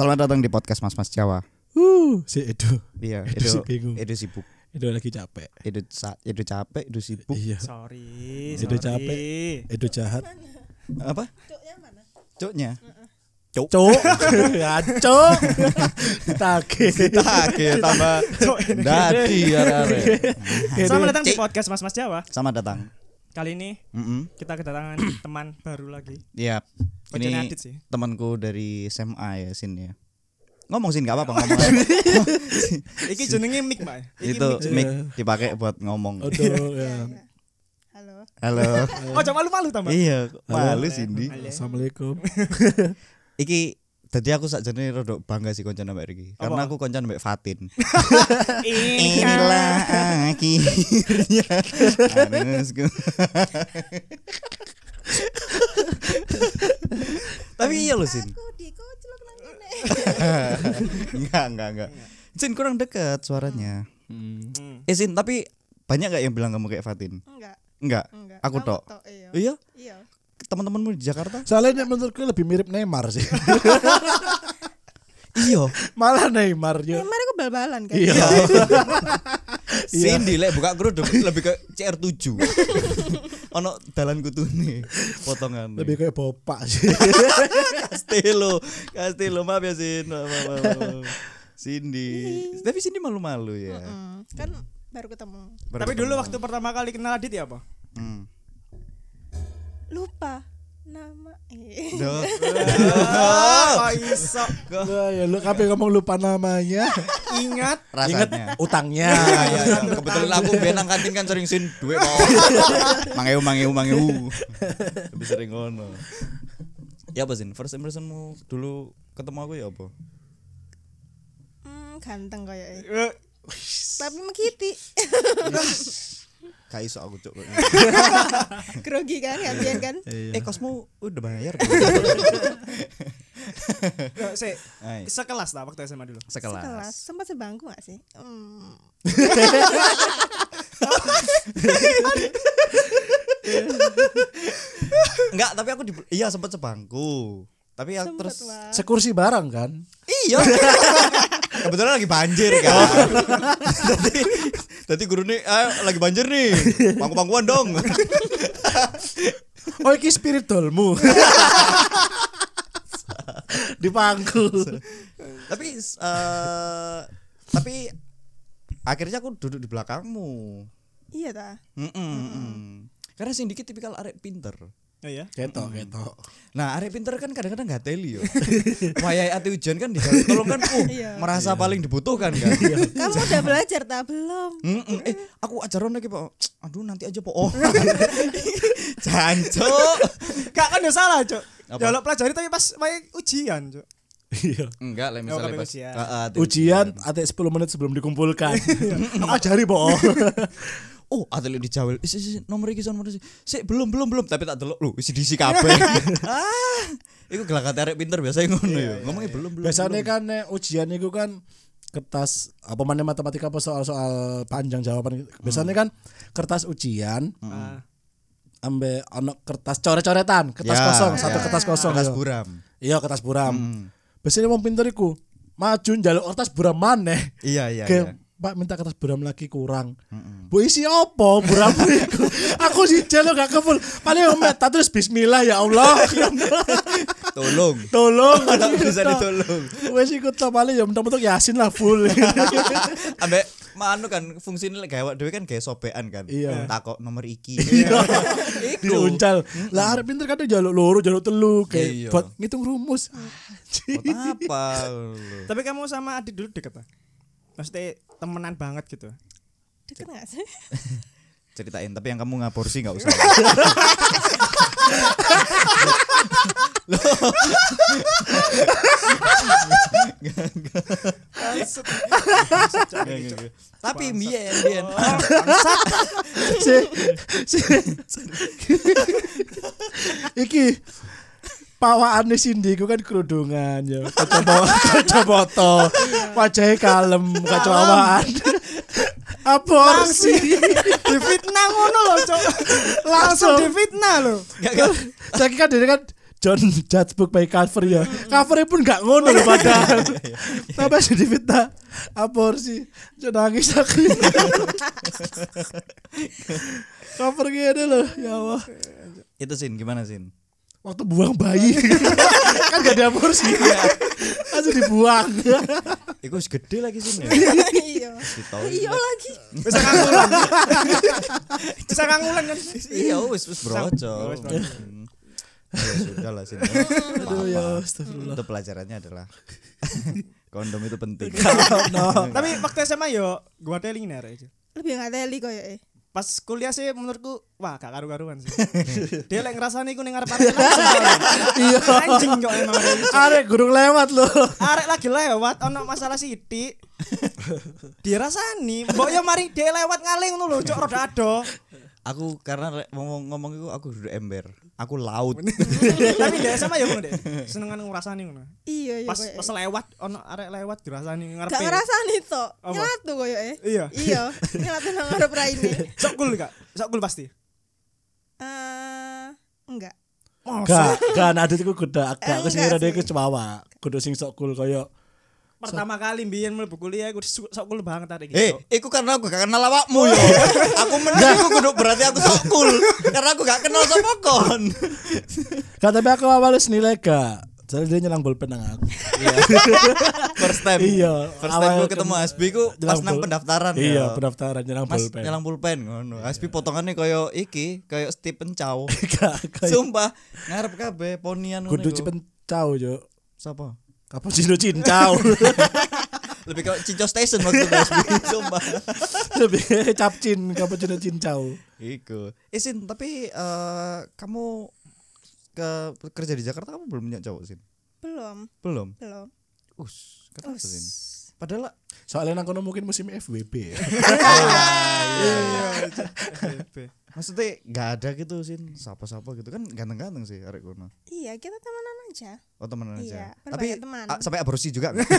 Selamat datang di podcast Mas Jawa. Si Edo. Iya, Edo sibuk. Edo lagi capek. Edo capek, Edo sibuk. Iya. Sorry. Edo capek. Edo jahat. Apa? Cuknya mana? Cuknya. Cuk. Ya, cuk. Ditagih tambah dadi arek. Selamat datang di podcast Mas Jawa. Selamat datang. Kali ini kita kedatangan teman baru lagi. Iya. Ini Ini sih. temanku dari SMA ya, Sin ya. Ngomong Sin, enggak apa-apa ngomong. Iki jenenge mic, Mbak. Itu mic dipakai buat ngomong. Aduh, ya. Halo. Halo. Oh, jangan malu-malu tambah. Iya, malu Halo. Cindy. Assalamualaikum. Iki tadi aku sakjane rada bangga sih koncoan mbak Riki. Karena aku koncoan mbak Fatin. Inilah akhirnya harusku. Tapi iya loh Sin. Aku dikucluk nang ngene. Enggak. Sin kurang dekat suaranya. Hmm. Sin, tapi banyak enggak yang bilang kamu kayak Fatin? Enggak. Aku Kamu tok. Iya? Iya. Teman-temanmu di Jakarta? Soalnya menurutku lebih mirip Neymar sih. Iya. Malah Neymar yo. Neymar iku bal-balan kan. Iya. Cindy lek buka grup lebih ke CR7. Ono dalan kutune potongan. Lebih kayak bopak sih. Castelo, maaf ya Sin. Maaf. Cindy. Tapi Cindy malu-malu ya. Kan baru ketemu. Tapi dulu waktu pertama kali kenal Adit ya apa? Lupa nama. Duh. Kok iso? Wah, ya lu kabeh ngomong lupa namanya. Ingat Rasanya. Utangnya. Ya. Kebetulan aku biar nang kantin kan sering Sin duit kok. Mangeu. Lebih sering ngono. Ya apa Sin? First impressionmu dulu ketemu aku ya apa? Ganteng kayaknya. Tapi mengkiti. Gak iso aku cuk. Grogi kan gantian kan? Kosmu udah bayar. sik. Hai. Sekelas lah waktu SMA dulu. Sekelas. Sempat sebangku gak sih? Enggak, tapi aku sempat sebangku. Tapi ya terus Sekursi bareng kan? iya. Kebetulan lagi banjir kan. Tadi gurune lagi banjir nih. Pangku-pangkuan dong. Oh, iki spiritualmu. Di pangku. Tapi akhirnya aku duduk di belakangmu. Iya ta. Karena sing dikit tipikal arek pinter. Oh iya. Ketok. Nah, arek pinter kan kadang-kadang gak teli yo. Wayahe ati ujian kan dikasih tolong kan merasa paling dibutuhkan kan. Kamu udah belajar tak belum? Aku ajaran lagi Pak. Aduh nanti aja Po. Jancuk. Kak kan udah salah, Cuk. Apa? Jaluk pelajari tapi pas wae ujian, Cuk. Iya. Enggak lah misalnya kabeh pas ujian. Ujian atik 10 menit sebelum dikumpulkan. Aku ajari, Po. Oh, atlet dijawel. Nomor iki nomor iki. Sik belum. Tapi tak delok lho, isi diisi kabeh. Iku gelagat arek pinter biasa ngono ya. Ngomongnya belum. Biasanya kan ujian itu kan kertas apa mana matematika apa soal panjang jawaban. Biasanya kan kertas ujian. Ambil ono kertas coret-coretan, kertas kosong, satu kertas kosong. Kertas buram. Iya, kertas buram. Biasanya wong pinter iku maju njaluk kertas buram maneh. Iya. Pak minta kertas buram lagi kurang. Bu isi opo buram iku? Aku sih jelo gak keful. Paling meta terus bismillah ya Allah. Tolong. Bisa ditolong. Wes iku to paling ya mentok-mentok Yasin lah full. Ambek manu kan fungsine lek gawe dhewe kan gawe sobekan kan. Iya. Takok nomor iki. Diuncal. Lah arep pinter kadang jaluk loro, jaluk telu kayak Iya. buat ngitung rumus. Buat apa? Tapi kamu sama Adit dulu deket tak? Maksudnya temenan banget gitu. Deket gak sih? Ceritain, tapi yang kamu ngaporsi enggak usah. Tapi mbiyen. Iki pawakane Cindy ku kan kerudungan ya. Kacamata. Wajahe kalem, kacamawaan. Aborsi. Difitnah ngono lho, Cuk. Langsung difitnah lho. Saiki kan dene kan John judge book by cover ya. Covernya pun gak ngono loh padahal. Tapi jadi fitnah aborsi. John nangis aku. Cover gini loh, ya Allah. Itu Sin, gimana Sin? Waktu buang bayi kan gak ada aborsi. Langsung dibuang. Iku wis gede lagi Sin ya. Iya. Di toilet. Iya lagi. Bisa kangulan. Bisa kangulan kan. Iya wis brocol. Wis brocol. Ya sudah lah Sin. Aduh ya astagfirullah. Untuk pelajarannya adalah kondom itu penting. Tapi waktu SMA yo gua teling nih aja. Lebih nggak teli koyo Pas kuliah sih menurutku wah gak karu-karuan sih. Dia lek ngrasani ku ning arep-arep. Iya. Anjing kok emang. Arek gurung lewat loh. Arek lagi lewat ono masalah sithik. Dirasani, mbok yo mari dia lewat ngaling ngono lho, cok rada ado. Aku karena ngomong itu aku duduk ember. Aku laut. Tapi dia sama ya ngono deh. Senengan ngrasani ngono. Iya Pas lewat ono arek lewat dirasani ngarepe. gak ngerasani to. Apa? Nyelatu koyo Iya. Iya, nyelatu nang ngarep raine. Sok cool gak? Sok cool pasti. Enggak. Gak ada itu kudu agak Enggak kesini dia sih. ke cewawa. Kudu sing sok cool koyo Pertama kali mbiyen mlebu kuliah aku sok cool banget arek Iku karena aku gak kenal awakmu yo. Aku menang kudu berarti aku sok cool. Karena aku gak kenal sapa kon. Gak, tapi aku awalnya senilai gak. Soalnya dia nyelang bolpen nang aku. First time. Iya. First time awal gue ketemu Asbi ku pas nyelang nang bol- pendaftaran. Iya, ya. pendaftaran nyelang Mas bolpen. nyelang pulpen ngono. Asbi potongannya koyo iki, koyo Stephen Chow. Gak Sumpah, ngarep kabeh ponian ngono. kudu iku. cipencau yo. Sapa? Cappuccino cincau. Lebih ke Cinco Station waktu itu Asbi. Sumpah. Lebih kayak capcin cappuccino cincau. Iku. Sin, tapi kamu kerja di Jakarta kamu belum punya cowok Sin? Belum. Belum. Kenapa Us. Sin? Padahal Soalnya nang kono mungkin musim FWB ya. maksudnya gak ada gitu Sin, sapa-sapa gitu kan ganteng-ganteng sih arek kono. Iya, kita temenan aja. Oh temenan Iya, aja. berbanyak Tapi teman. sampai aborsi juga enggak?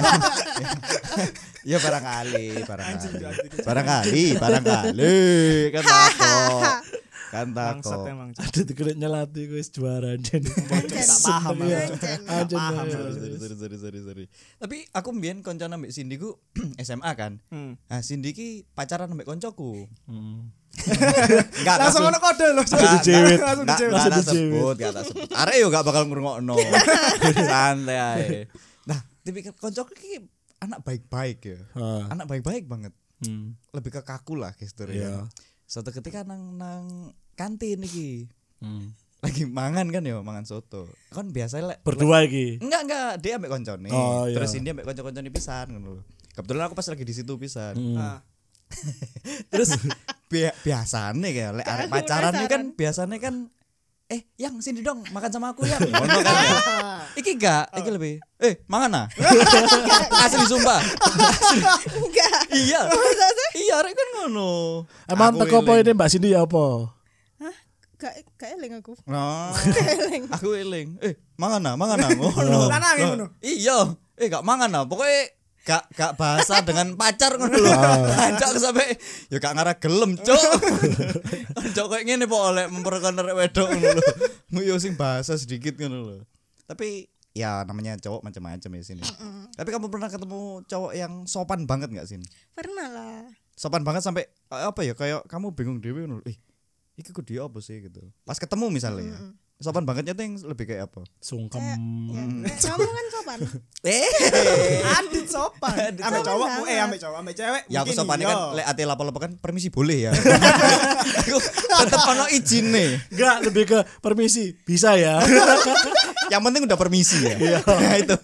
Ya barangkali. Barangkali kan takut. Kan Bangsat takut. emang. Ada tuh kena nyelati gue juara anjen. Gak paham. Anjen. paham. Sorry. Tapi aku mbien koncone ambek Cindy ku SMA kan. Nah, Cindy ki pacaran ambek koncoku. Enggak Langsung ono kode lho. dijewet. Langsung Enggak dijewet. tak sebut, enggak tak sebut. Arek yo gak bakal ngrungokno. Santai ae. Nah, tipikal koncoku ki anak baik-baik ya. Ah. Anak baik-baik banget. Hmm. Lebih ke kaku lah gesture ya. Iya. Suatu ketika nang kantin iki. Hmm. Lagi mangan kan ya, mangan soto. Kan biasa lek Berdua iki. enggak dia ambek koncone. Oh, iya. Terus ini ambek konco-koncone pisan ngono lho. Kebetulan aku pas lagi di situ pisan. Ah. Terus biasane kayak lek arek pacaran ini kan biasane kan yang sini dong makan sama aku ya. Ngono kan ya. Iki enggak, iki lebih mangan ah. Asli sumpah. Enggak. Iya. Masa sih? Iya arek kan ngono. Emang Aku teko eling. poinnya Mbak Cindy ya apa? Gak eling aku. Nah, Eling. aku eling. Mangan ah ngono. Lanang ya ngono. Iya, gak mangan ah. Pokoknya gak bahasa dengan pacar ngono lho. Cok sampai ya gak ngarah gelem, Cuk. Cok koyo ngene po oleh memperkenalkan arek wedok ngono lho. Yo sing bahasa sedikit ngono lho. Tapi ya namanya cowok macam-macam ya sini. Tapi kamu pernah ketemu cowok yang sopan banget enggak Sin? Pernah lah. Sopan banget sampai apa ya kayak kamu bingung dhewe ngono. Iki kok dia apa sih gitu. Pas ketemu misalnya ya. Sopan bangetnya tuh yang lebih kayak apa? Sungkem. Kamu kan sopan. Adit sopan. Ame cowok, ame cowok, ame cewek. Ya aku mungkin sopannya iya. kan lek ati lapo-lapo kan permisi boleh ya. Aku tetep ono izine. Enggak, lebih ke permisi. Bisa ya. Yang penting udah permisi ya. Nah, itu.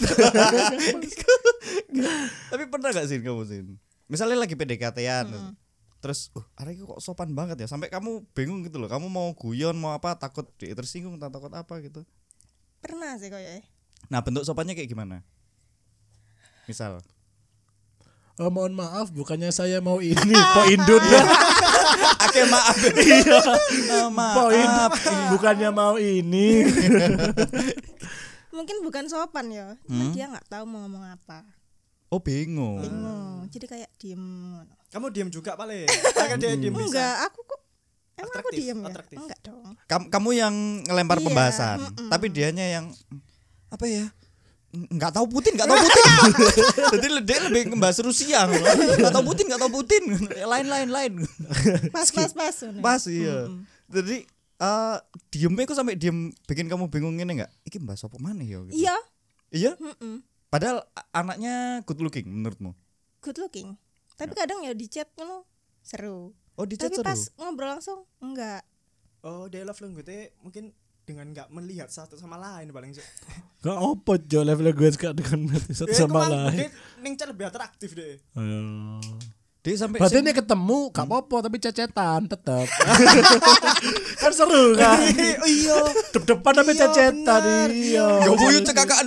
Tapi pernah gak sih kamu Sin? Misalnya lagi PDKT-an. Terus, arek kok sopan banget ya. Sampai kamu bingung gitu loh. Kamu mau guyon mau apa takut tersinggung, takut apa gitu. Pernah sih kayaknya. Nah, bentuk sopannya kayak gimana? Misal Oh, mohon maaf, bukannya saya mau ini, Po Indun. Oke maaf. Iya. Maaf. Po Indun, bukannya mau ini. Mungkin bukan sopan ya. Cuma dia nggak tahu mau ngomong apa. Oh bingung. Bingung. Jadi kayak diem. Kamu diam juga paling. Kan dia diam bisa. Enggak, aku kok Emang aku Atraktif, diem ya? atraktif. Enggak dong. Kamu yang ngelempar Iya, pembahasan, tapi dianya yang apa ya? Nggak tahu Putin. Jadi dia lebih ngebahas Rusia. Nggak tahu Putin. Lain. Pas. Pas iya. Jadi diemnya kok sampai diem bikin kamu bingung ini nggak? Iki bahas apa mana ya? Gitu. Iya. Iya. Mm-mm. Padahal anaknya good looking menurutmu? Good looking. Tapi kadang ya di chat ngono seru. Oh di chat Tapi seru. pas ngobrol langsung enggak. Oh, dia love language mungkin dengan enggak melihat satu sama lain paling sih. Gak opo jo level gue suka dengan satu sama lain. Ning chat lebih atraktif deh. Dia sampai Berarti ini ketemu gak apa-apa tapi cecetan tetep. Kan seru kan. Oh iya. Depan tapi Iya, cecetan benar. iya. Gak buyut cekakaan.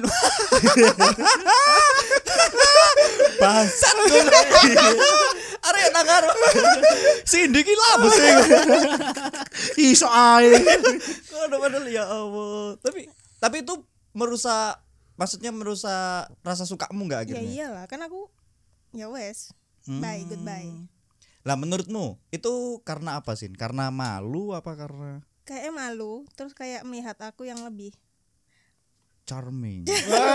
Bangsat gue. Arek nangar. Cindy ki labes e. Iso ae. Padahal ya Allah. Tapi itu merusak rasa sukamu enggak Ya akhirnya? iyalah, kan aku ya wes. Bye, goodbye. Lah menurutmu itu karena apa sih? Karena malu apa karena Kayaknya malu, terus kayak melihat aku yang lebih charming?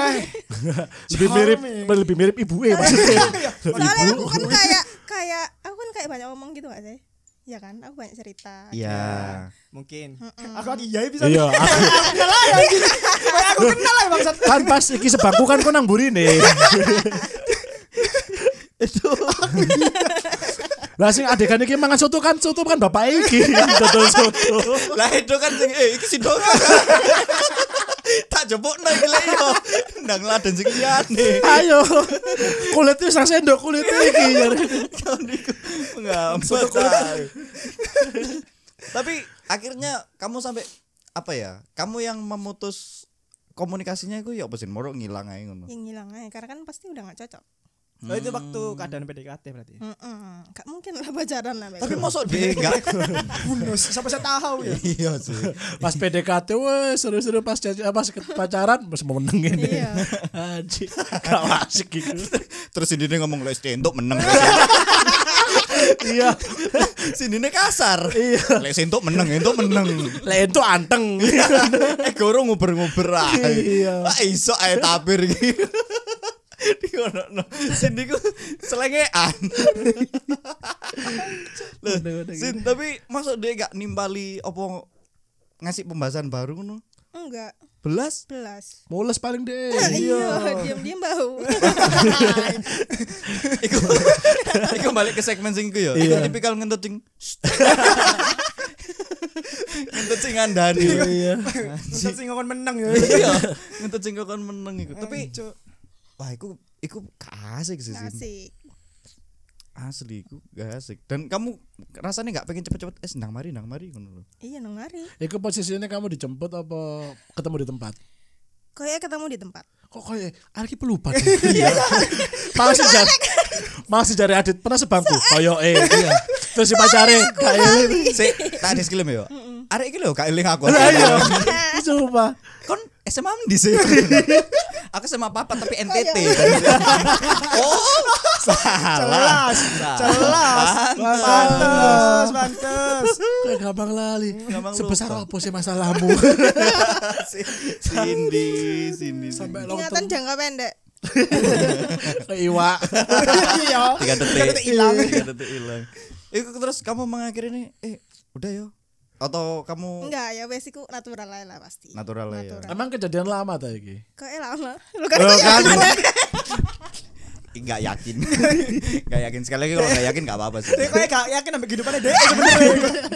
Lebih mirip ibu maksudnya. soalnya aku kan kayak aku kan kayak banyak ngomong gitu gak sih? Ya kan, aku banyak cerita. Iya. Mungkin. Aku lagi iya bisa. Iya, Aku kenal ya bangsat. kan pas iki sebangku kan kok nang burine. Itu Lah sing adegan iki mangan soto kan bapak iki dodol soto. lah itu kan sing iki si dong. Tak jebokno iki lek yo. Ndang laden sing liyane. Ayo. Kulitnya sak sendok kulit iki. Ngambat. Tapi akhirnya kamu sampai apa ya? Kamu yang memutus komunikasinya itu ya apa sih? Moro ngilang aja ngono. Yang ngilang aja, karena kan pasti udah gak cocok. Oh itu waktu keadaan PDKT berarti. Gak mungkin lah pacaran lah. Tapi mosok dia enggak. Bonus sampai saya tahu ya. Iya sih. Pas PDKT weh seru-seru pas pacaran masih mau meneng ini. Iya. Anjir. Gak asik gitu. Terus ini ngomong les entuk meneng. Iya. Sini kasar. Iya. Les entuk meneng. Lah itu anteng. Goro nguber-nguber ae. Iya. Ah iso ae tapir iki. Dikono. Sini ku selengean. Loh, Sin, tapi masuk dia gak nimbali opo ngasih pembahasan baru ngono? Enggak, Belas? Mules paling deh. Iya, diam-diam bau. Iku balik ke segmen sing iku ya. Iya. Iku tipikal ngentut sing ngentut sing ngandani. Iya. Untuk sing ngomong menang ya. Iya, ngentut sing kon meneng iku. Tapi wah iku gak asik sih. Sin. Asik. Asli iku gak asik. Dan kamu rasanya gak pengen cepet-cepet nang mari ngono lho. Iya, nang mari. Iku posisinya kamu dijemput apa ketemu di tempat? Kayak ketemu di tempat. Kok kayak Arki pelupa. Iya. Masih jare Adit pernah sebangku. Koyo iya. Terus si pacare kayak Sik, tak disklem ya. Arek iki lho gak eling aku. iya. Coba. Kon SMA ndi sih? Aku SMA papa tapi NTT. Oh, salah. Pantes. Kayak gampang lali. Gampang Sebesar lupa. apa sih masalahmu? Cindy. Sampai Ingatan jangka pendek. Iwa. Iya. 3 detik hilang. 3 detik hilang. Iku terus kamu mengakhiri ini udah yo. Atau kamu Enggak, ya wes iku natural aja lah pasti. natural ya. Emang kejadian lama ta iki? Kayak lama. Lu kan Loh, kan? Enggak yakin. Enggak yakin sekali lagi kalau enggak yakin enggak apa-apa sih. Dia kayak gak yakin sampai kehidupannya dia sebenarnya.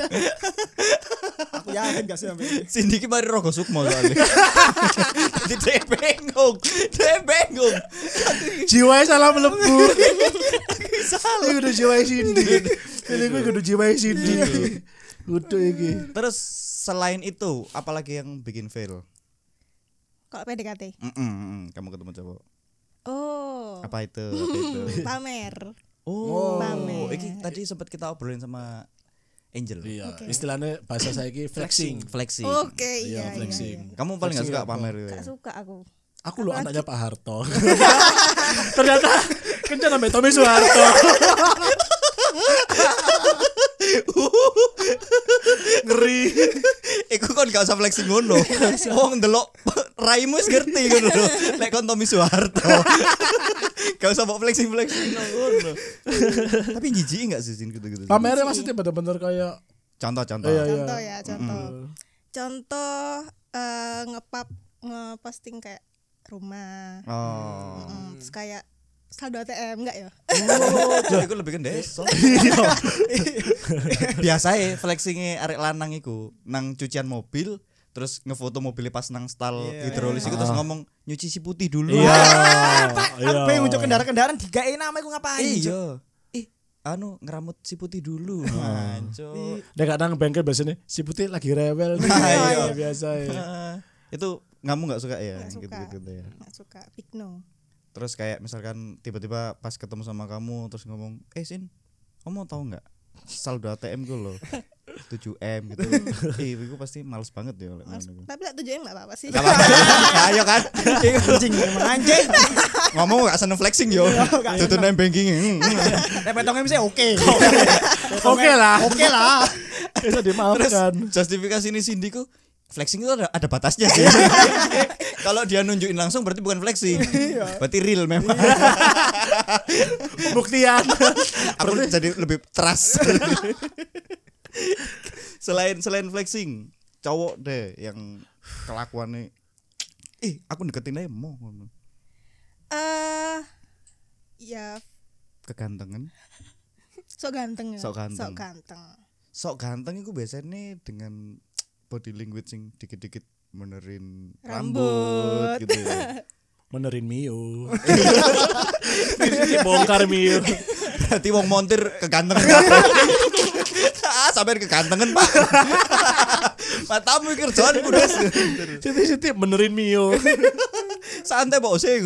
Aku yakin gak sih sampai ini. Cindy ki mari rogo sukmo soalnya. Jadi dia bengong. Jiwanya salah melebu. Salah. Ini udah jiwanya Cindy. Ini gue udah jiwanya Cindy. Udah iki. Terus selain itu apalagi yang bikin fail? Kalau PDKT. Kamu ketemu cowok. Oh. Apa itu? Pamer. Oh, Pamer. iki tadi sempat kita obrolin sama Angel. Iya, Oke. istilahnya bahasa saya iki flexing. Flexing. Oke, Iya, iya. flexing. Kamu paling gak suka Flexing apa? pamer gitu Gak ya? suka aku. Aku lo anaknya Pak Harto. Ternyata kencan sampai Tommy Soeharto. Ngeri. Iku kon gak usah flexing ngono. Wong ndelok raimu wis ngerti ngono lho. Lek kon Tommy Soeharto. Gak usah mbok flexing ngono. Tapi jijik enggak sih gitu-gitu. Pamernya maksudnya bener-bener kayak Contoh. Iya. Contoh ya, contoh ngeposting kayak rumah. Oh. Terus kayak saldo ATM enggak ya? Oh, iku lebih ke desa. Biasae flexinge arek lanang iku nang cucian mobil terus ngefoto mobilnya pas nang stall hidrolis iku terus ngomong nyuci si putih dulu. Iya. Aku pengen untuk kendaraan digawe nama iku ngapain? Iya. Anu ngeramut si putih dulu. Anco. Nek gak nang bengkel biasanya si putih lagi rewel. Iya. Biasa ya. Itu kamu nggak suka ya? Nggak suka. Gitu ya. Nggak suka, big no. Terus kayak misalkan tiba-tiba pas ketemu sama kamu terus ngomong, Sin, kamu tahu nggak saldo ATM gue loh 7M gitu. Itu pasti males banget ya. Tapi lah 7M nggak apa-apa sih. Gak apa-apa. Ayo kan. Anjing. Ngomong gak seneng flexing yo. Tutup name banking. Repetongnya bisa oke. Oke lah. Bisa Terus dimaafkan. justifikasi ini Cindy ku flexing itu ada batasnya sih. Kalau dia nunjukin langsung berarti bukan flexing. Berarti real memang. Buktian. Aku jadi lebih trust. selain flexing, cowok deh yang kelakuannya aku deketin aja mau Ya kegantengan. sok ganteng ya. Sok ganteng. Sok ganteng. Sok ganteng itu biasanya dengan body language yang dikit-dikit menerin Rambut. gitu ya. Menerin Mio. Bongkar Mio. Berarti wong montir kegantengan. Sampai kegantengan, Pak. Matamu kerjaan udah. Siti menerin Mio. Santai bose.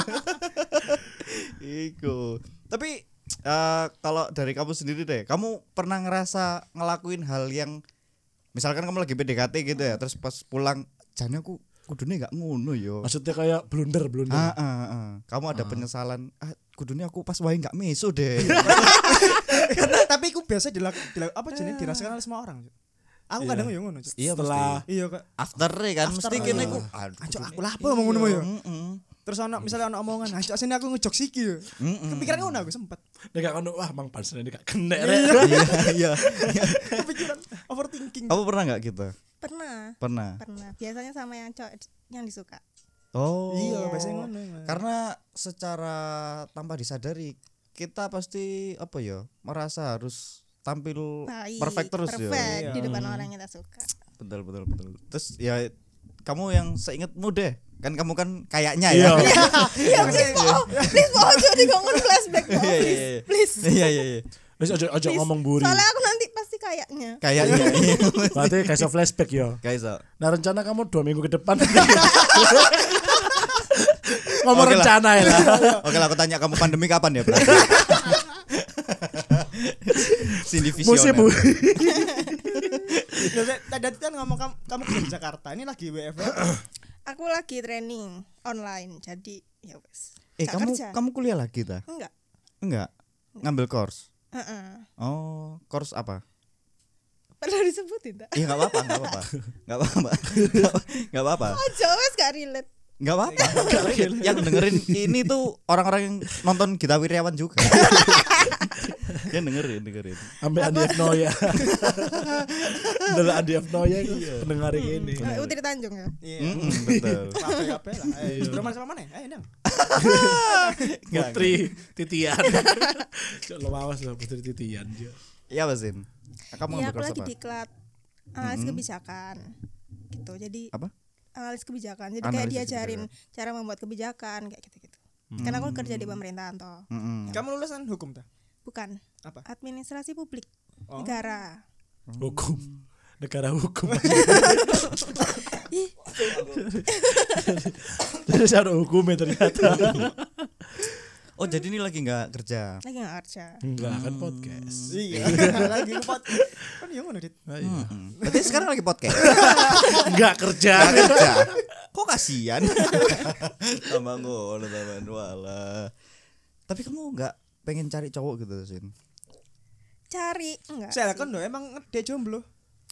Iku. Tapi kalau dari kamu sendiri deh, kamu pernah ngerasa ngelakuin hal yang misalkan kamu lagi PDKT gitu ya, terus pas pulang jane aku kudune gak ngono yo. Maksudnya kayak blunder. Kamu ada penyesalan, kudune aku pas wae gak meso deh. Tapi aku biasa dirasakan oleh semua orang. Aku kadang yo ngono. Iya, Setelah Iya kok. after kan mesti kene ku Anjok aku lah apa ngomong ngono yo. Terus misalnya omongan, anjok sini aku ngejok siki yo. Kepikiran ngono aku sempet. nek gak ono wah mang pansen ini gak kena. Iya. Kepikiran overthinking. Kamu pernah gak gitu? Pernah. Biasanya sama yang cowok yang disuka. Oh. Iya, biasanya ngono. Karena secara tanpa disadari kita pasti merasa harus tampil perfect terus ya. Perfect di depan orang yang kita suka. Betul. Terus ya kamu yang seingetmu deh. Kan kamu kan kayaknya ya. Iya, please jadi ngomong flashback po, please. Iya. Wis ojo ngomong buri. Soalnya aku nanti pasti kayaknya. Kayaknya. Berarti kayak flashback yo. Guys, Nah rencana kamu 2 minggu ke depan. Ngomong Oke lah. rencana ya lah. Oke lah, aku tanya kamu pandemi kapan ya berarti? Cindy Musim visioner. Tadi kan ngomong kamu kerja di Jakarta. Ini lagi WFH. Aku lagi training online, jadi ya wes. Gak kerja. kamu kuliah lagi ta? Enggak. Ngambil course. Heeh. Oh, course apa? Perlu disebutin tak? Iya enggak apa-apa. Aja wes gak relate. Enggak apa-apa. Yang dengerin ini tuh orang-orang yang nonton Gita Wirjawan juga. Dia dengerin. Ambil Andi F Noya. Adalah Andi F Noya itu pendengar ini. Utri Tanjung ya. Betul. Apa lah. Broman sama mana? Nang. Putri Titian. Cok lo awas lah Putri Titian. Iya, Basin. Kamu Iya, ngambil aku course lagi apa? diklat analis kebijakan. Gitu. Jadi Apa? analis kebijakan. Jadi Analis kayak diajarin cara membuat kebijakan kayak gitu-gitu. Karena aku kerja di pemerintahan toh. Kamu lulusan hukum ta? Bukan. Apa? Administrasi publik. Oh. Negara. Hukum. Negara hukum. Terus ada hukumnya ternyata. Oh, jadi ini lagi enggak kerja. Lagi gak kerja. Enggak kan podcast. Iya. Lagi pot. Kan yang ngono dit. Berarti sekarang lagi podcast. Enggak kerja. Enggak kerja. Kok kasihan? Tambah ngono tambahan wala. Tapi kamu enggak pengen cari cowok gitu, Sin? Cari enggak? Saya sih. kan emang dia jomblo.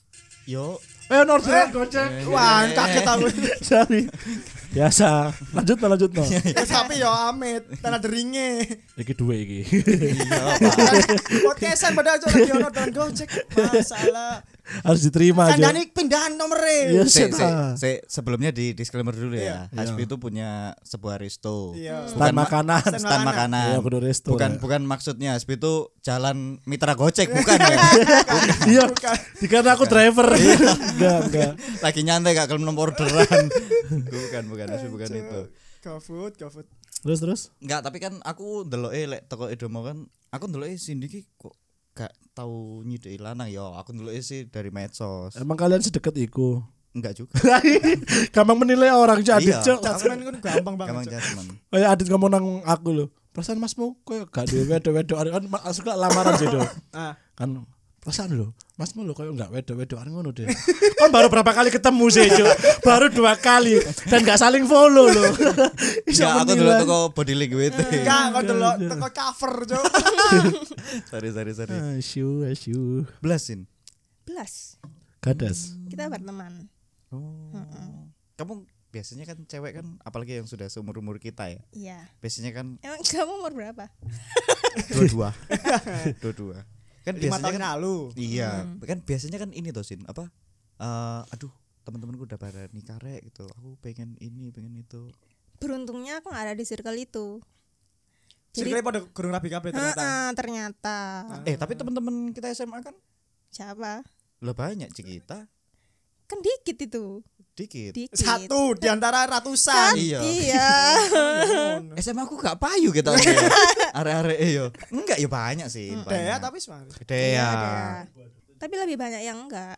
Yo, orderan Gojek. Wah, kaget aku. Sorry. Biasa. Lanjut no. Tapi yo amit, tanah deringe. Iki duwe iki. Podcastan padahal cok lagi ono dengan Gojek. Masalah. Harus diterima aja. Kandani pindahan nomere. Iya, sebelumnya di disclaimer dulu ya. Iya. Hasbi itu punya sebuah resto. Iya. Stand makanan. Stand makanan. Iya, kudu resto. Bukan maksudnya Hasbi itu jalan mitra Gojek bukan ya. Iya. Dikira aku driver. Enggak. Lagi nyantai gak kalau nomor orderan. bukan Hasbi bukan itu. GoFood. Terus. Enggak, tapi kan aku ndeloke lek toko Edomo kan aku ndeloke Cindy ki kok gak tahu nyideki lanang ya. Aku ndeloke sih dari medsos. Emang kalian sedekat iku? Enggak juga. Gampang menilai orang Adit, Iya. Cok. Jasman kan gampang banget. Gampang Cok. jasman. Kayak Adit ngomong nang aku lho. Perasaan masmu koyo gak duwe wedok-wedok kan suka lamaran sih, Do. Ah. Kan perasaan lho, masmu lho koyo gak wedok-wedokan ngono deh. Kan baru berapa kali ketemu sih, Cok. Baru 2 kali dan gak saling follow lho. Ya aku dulu toko body language. Enggak, kok delok teko cover, Cok. Sorry. Asyuh. Belasin. Belas. Gadas. Kita berteman. Oh. Kamu biasanya kan cewek kan apalagi yang sudah seumur-umur kita ya. Iya. Biasanya kan Emang kamu umur berapa? dua-dua. Kan 5 biasanya tahun kan lalu. iya, kan biasanya kan ini toh Sin, apa? Aduh, teman-temanku udah pada nikah rek gitu. Aku pengen ini, pengen itu. Beruntungnya aku gak ada di circle itu. Circle pada gurung rabi kabeh ternyata. Ternyata. Tapi teman-teman kita SMA kan Siapa? lah banyak Cikita, Kan dikit itu. dikit. Satu di antara ratusan. Iya. Iya. SMA aku gak payu gitu. Are-are yo. Enggak ya banyak sih. Dea banyak. tapi semangat. Dea. Tapi lebih banyak yang enggak.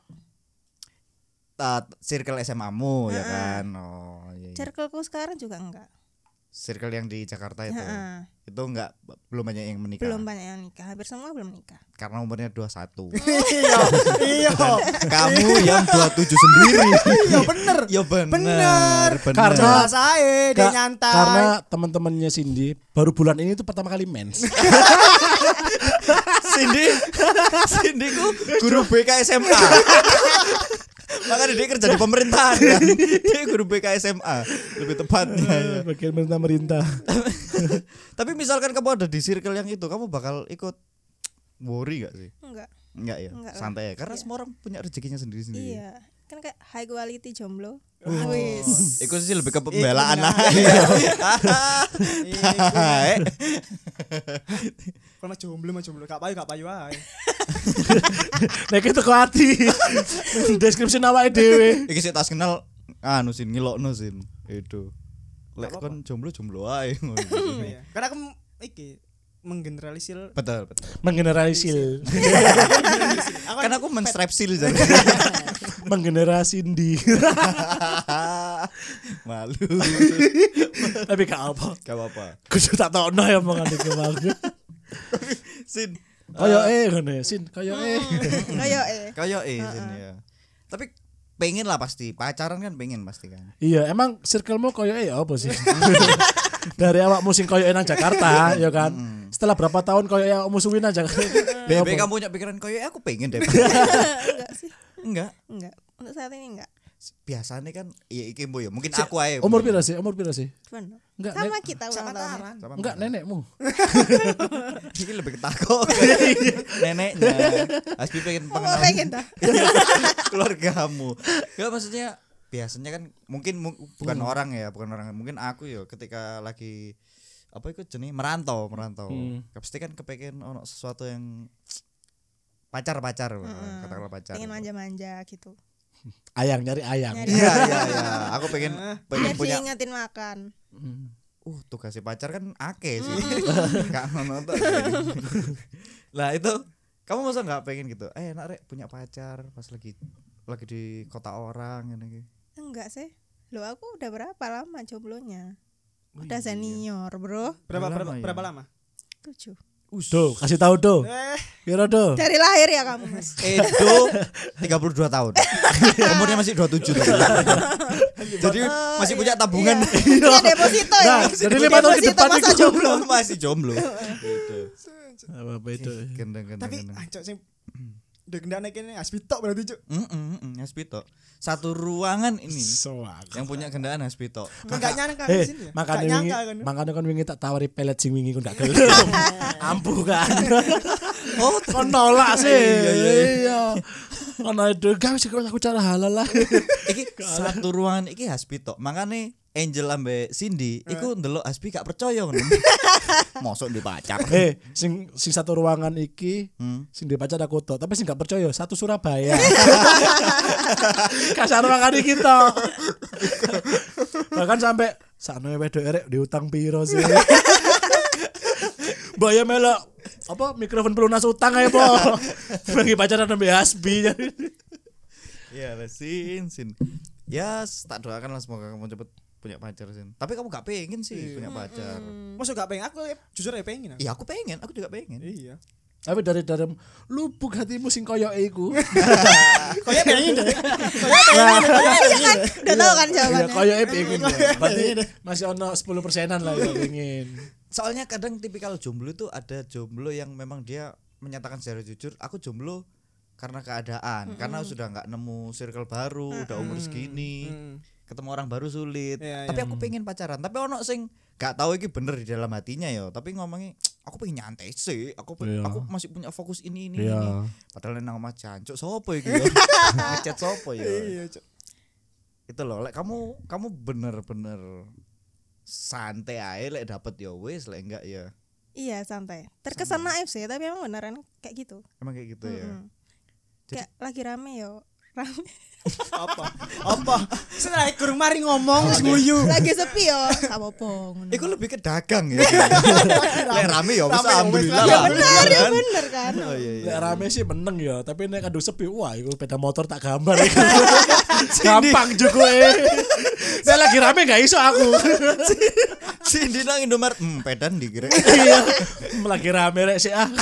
Circle SMA-mu ya kan. Oh, iya. Circleku sekarang juga enggak. Circle yang di Jakarta itu. Heeh. Itu enggak belum banyak yang menikah. Belum banyak yang nikah. Hampir semua belum nikah. Karena umurnya 21. Iya. Kamu yang 27 sendiri. Iya bener. Ya bener. Bener. Karena- Jelas ae dia nyantai. Karena teman-temannya Cindy baru bulan ini tuh pertama kali mens. Cindy ku guru BK SMA. Makanya dia kerja di pemerintahan kan. Dia guru BK SMA lebih tepatnya. Bagian pemerintah. Tapi misalkan kamu ada di circle yang itu, kamu bakal ikut worry gak sih? Enggak. Enggak ya, Enggak lah. santai ya. Karena Iya. semua orang punya rezekinya sendiri-sendiri. Iya. Kan kayak high quality jomblo. Oh. Wis. Itu sih lebih ke pembelaan Iya. aja. Kalau jomblo gak payu ae. Nek itu kok ati. Deskripsi awake dhewe. Iki sih tas kenal anu Sin ngilokno Sin. Itu. Lek kon jomblo ae ngono. Iya. Karena aku iki menggeneralisir. Betul. Menggeneralisir. Kan aku menstrepsil jadi. Menggenerasi Cindy. Malu. Tapi gak apa. Gak apa-apa. Kudu tak tokno ya omongan iki mau. Sin. Kayak ngene, Sin, kayak Kayak Sin ya. Tapi pengen lah pasti. Pacaran kan pengen pasti kan. Iya, emang circlemu koyo apa sih? Dari awakmu sing koyo nang Jakarta, ya kan. Setelah berapa tahun koyo musuhin nang Jakarta. Bebe kamu punya pikiran kayak aku pengen deh. enggak sih. Enggak. Enggak. Untuk saat ini enggak. Biasanya kan iya iki mbo ya. Mungkin aku aja. Umur pira sih? Cuman Enggak, sama kita ulang tahunnya. enggak nenekmu. Iki lebih ketakut. Neneknya. Aspi pengen Oh, pengenalan pengen dah. keluargamu. Enggak maksudnya biasanya kan mungkin bukan orang ya, bukan orang. Mungkin aku ya ketika lagi apa itu jenis merantau. Pasti kan kepengen ono sesuatu yang pacar katakanlah pacar. Pengen manja-manja gitu. Ayang nyari ayang. Nyari Iya. Aku pengen Biar punya diingetin makan. tugasnya pacar kan akeh sih. Gak nonton. Lah itu kamu masa nggak pengen gitu? Enak rek punya pacar pas lagi di kota orang gitu. Enggak sih. Loh aku udah berapa lama jomblonya? Udah senior, Bro. Berapa lama? 7. Do, kasih tahu do. Kira do. Dari lahir ya kamu, Mas. Edo 32 tahun. Umurnya masih 27 tuh. Jadi masih punya tabungan. Iya deposito ya. Nah, jadi 5 tahun ke depan masa itu jomblo. Masih jomblo. Gitu. Apa itu? Gendeng. Tapi ancok sing Dek ndane kene Aspitok berarti cuk. Haspito. Satu ruangan ini Soak. yang punya gendaan Haspito. Kan gak nyangka di sini ya. Makanya Gak wingi, nyangka kan. makanya kan wingi tak tawari pelet sing wingi ku ndak gelem. Ampuh kan. Oh, Kon nolak sih. Iya. Ono itu gawe sih aku cara halal lah. iki satu ruangan iki Haspito. Makane Angel ambe Cindy iku ndelok Hasbi gak percaya ngono. Mosok di pacar. Sing satu ruangan iki sing di pacar aku tok, tapi sing gak percaya satu Surabaya. Kasar ruangan iki tok. Bahkan sampai sakno wedok erek diutang piro sih. Mbaya melok apa mikrofon pelunas utang ae po. Bagi pacaran sampe Hasbi. Iya, Sin. Ya, tak doakan lah semoga kamu cepet punya pacar Sin. Tapi kamu gak pengen sih punya pacar. Masuk gak pengen aku jujur ya pengen. Iya, aku pengen, aku juga pengen. Iya. Tapi dari dalam lubuk hatimu sing koyo iku. Koyo pengen deh. Udah tahu kan Iya, jawabannya. koyo pengen ya. Berarti masih ono 10%-an lah ya pengen. Soalnya kadang tipikal jomblo itu ada jomblo yang memang dia menyatakan secara jujur, aku jomblo karena keadaan, karena sudah nggak nemu circle baru, udah umur segini, ketemu orang baru sulit. Iya, Tapi aku pengen pacaran. Tapi ono sing gak tahu iki bener di dalam hatinya ya. Tapi ngomongnya aku pengen nyantai sih. Aku Iya. aku masih punya fokus ini. Iya. Padahal nang omah jancuk sopo iki ya? Ngechat sopo ya? Iya, cuk. Itu loh, lek kamu bener-bener santai aja lek dapet ya wis, lek enggak ya. Iya santai. Terkesan naif sih, tapi emang beneran kayak gitu. Emang kayak gitu ya. Kayak lagi rame yo. Rame. Apa? Setelah kurang mari ngomong guyu. Lagi sepi yo. Apa-apa ngono. Iku lebih ke dagang ya. Lek rame ya wis Rame ya wis, alhamdulillah ya lah. Bener, ya Kan? bener kan. Oh iya iya. Lek rame sih meneng ya, tapi nek kado sepi wah iku sepeda motor tak gambar iku. Gampang juga Nek lagi rame gak iso aku. Cindy nang Indomaret, pedan dikira. Iya. Lagi rame rek sih ah.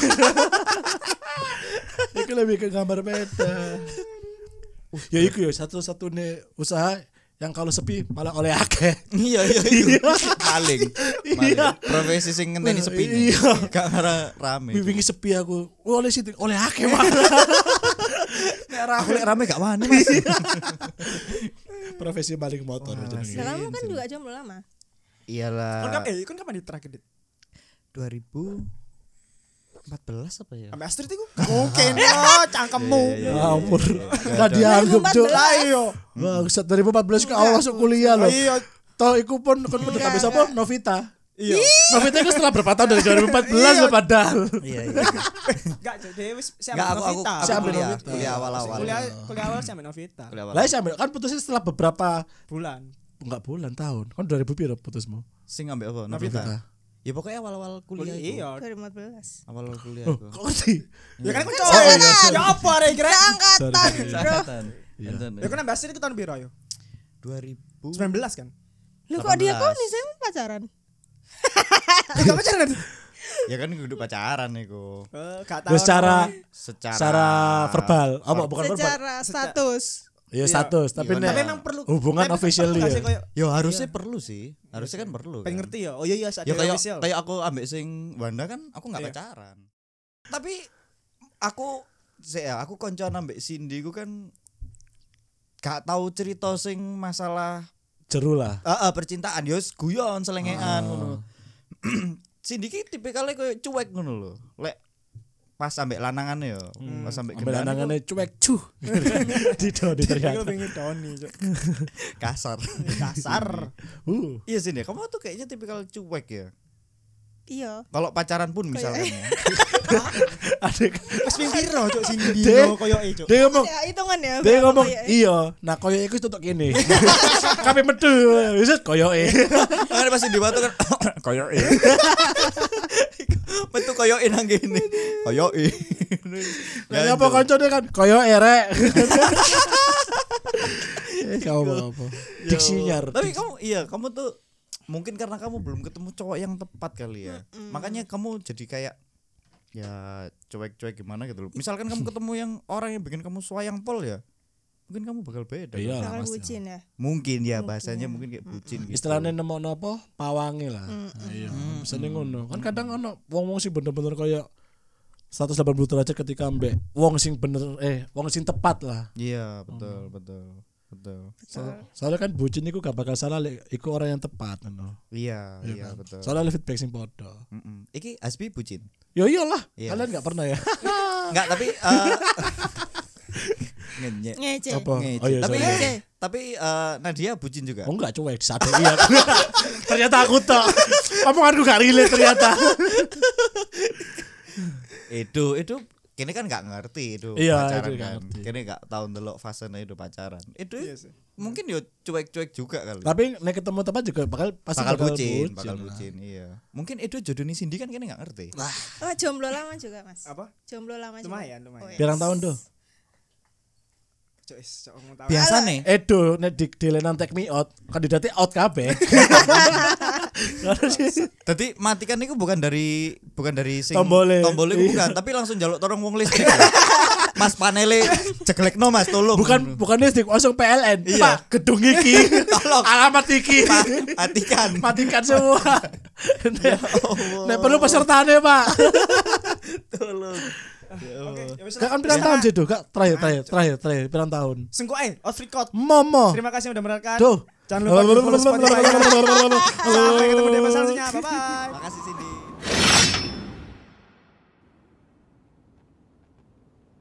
Iku lebih ke gambar peda. Ya iku ya satu-satunya usaha yang kalau sepi malah oleh akeh. Iya iya. Maling. Profesi sing ngenteni sepi. Iya. Gak ngara rame. Wingi sepi aku. Oleh situ oleh akeh malah. Aku lek rame gak wani Mas. Profesi maling motor jenenge. Nah, kamu kan juga jomblo lama. Iyalah. Kon kapan di terakhir dit? 2014 apa ya? Sampai Astrid iku. Mungkin oh cangkemmu. Iya, Ya ampun. Gak dianggap, Cuk. 2014. Lah iya. Bangsat 2014 ke awal masuk kuliah loh. Iya. Toh iku pun kon kudu Enggak, kabeh sapa? Novita. Iya. Novita itu setelah berapa tahun dari 2014 loh padahal. Iya iya. Enggak, dia wis si Enggak ambil aku Novita. Si ambil kuliah, Novita. kuliah awal-awal. Kuliah awal si ambil Novita. Kuliah awal. Lah sampe kan putusnya setelah beberapa Bulan. enggak bulan tahun. Kan 2000 piro putusmu? Sing ambek apa? Novita. Novita. Ya pokoknya awal-awal kuliah itu. Iya. 2014. Awal-awal kuliah Oh, itu. kok ngerti? Ya kan aku Kan cowok. seangkatan. Ya apa rek kira? Angkatan, Bro. Angkatan. Iya. Ya kan ambil Astrid itu tahun piro yo? 2000. 19 kan? Lu kok dia 18. kok nih saya pacaran? Enggak pacaran nanti. Ya kan kudu pacaran iku. Enggak tahu. Terus Secara secara verbal, apa bukan verbal? Secara status. Ya Iya. status, tapi Iya, nek Tapi emang perlu hubungan official ya. ya. yo harusnya perlu sih. Harusnya kan perlu. Pengen Kan? ngerti ya. Oh iya iya Ya kayak official. kayak aku ambek sing Wanda kan aku nggak Iya. pacaran. Tapi aku koncoan ambek Cindy ku kan gak tahu cerita sing masalah Jeru lah. percintaan yo guyon selengean ngono. Cindy ki tipikalnya koyo cuek ngono lho. Lek pas ambek lanangane yo, pas ambek Ambil gendane anangane cuek cuh. Dido Aku teriak. pengen Doni, Cuk. kasar. Kasar. Iya sih kamu tuh kayaknya tipikal cuek ya. Iya. Kalau pacaran pun misalkan ya. Adek Wis ping piro Cuk sing Dek. dino koyoke Cuk. dia ngomong Ya hitungan ya. dia berapa ngomong kayak- iya. Nah koyo iku tutuk kene. Kabeh metu. Wis koyoke. Kan pasti diwatu kan koyoke. Metu koyoke nang kene. Koyoke. Lah apa kancane kan koyoke rek. Kamu apa? Diksinyar. Tapi kamu tuh mungkin karena kamu belum ketemu cowok yang tepat kali ya. Makanya kamu jadi kayak ya cuek-cuek gimana gitu loh. Misalkan kamu ketemu yang orang yang bikin kamu sayang pol ya. Mungkin kamu bakal beda. Iya lah Bakal Mas. bucin ya. Mungkin ya bahasanya mungkin kayak bucin gitu. Istilahnya nemokno apa? Pawange lah. Iya, bisa ngono. Kan kadang ono wong-wong sih bener-bener kayak 180 derajat ketika ambek wong sing bener wong sing tepat lah. Iya, betul. Soalnya kan bucin iku gak bakal salah lek iku orang yang tepat ngono. Iya, kan? betul. Soalnya feedback sing podo. Iki Hasbi bucin. Yo iyalah, Iya. kalian gak pernah ya. Enggak, tapi ngenyek. Ngece. Apa? Ngece. Oh iya, tapi sorry. tapi Nadia bucin juga. Oh enggak cuek disadari iya. Ternyata aku tok. Omonganku gak relate ternyata. Itu kini kan nggak ngerti itu Iya, pacaran itu nggak kan. ngerti. Kini nggak tahu ndelok fasenya itu pacaran. Itu Iya sih. mungkin yo cuek-cuek juga kali. Tapi nek ketemu tepat juga pasti bakal bakal bucin, lah. iya. Mungkin itu jodoh nih Cindy kan kini nggak ngerti. Oh, jomblo lama juga, Mas. Apa? Jomblo lama juga. Lumayan. Oh, iya. Pirang tahun tuh? Cok ngomong tahu. Biasa nih. Edo nek di Delenan Take Me Out, kandidatnya out kabeh. Tadi matikan itu bukan dari sing Tombole. itu bukan, tapi langsung jaluk tolong wong listrik. Mas panele ceklekno Mas tolong. Bukan listrik, langsung PLN. Iya. Pak, gedung iki. Tolong. Alamat iki. Matikan. Matikan semua. Nek perlu pesertane, Pak. Tolong. Oke, ya wis. Gak kan pirang tahun sih, Kak? Terakhir pirang tahun. Sengko off record. Momo. Terima kasih sudah mendengarkan. Duh. Jangan lupa di follow Spotify. Sampai ketemu di episode selanjutnya. Bye bye.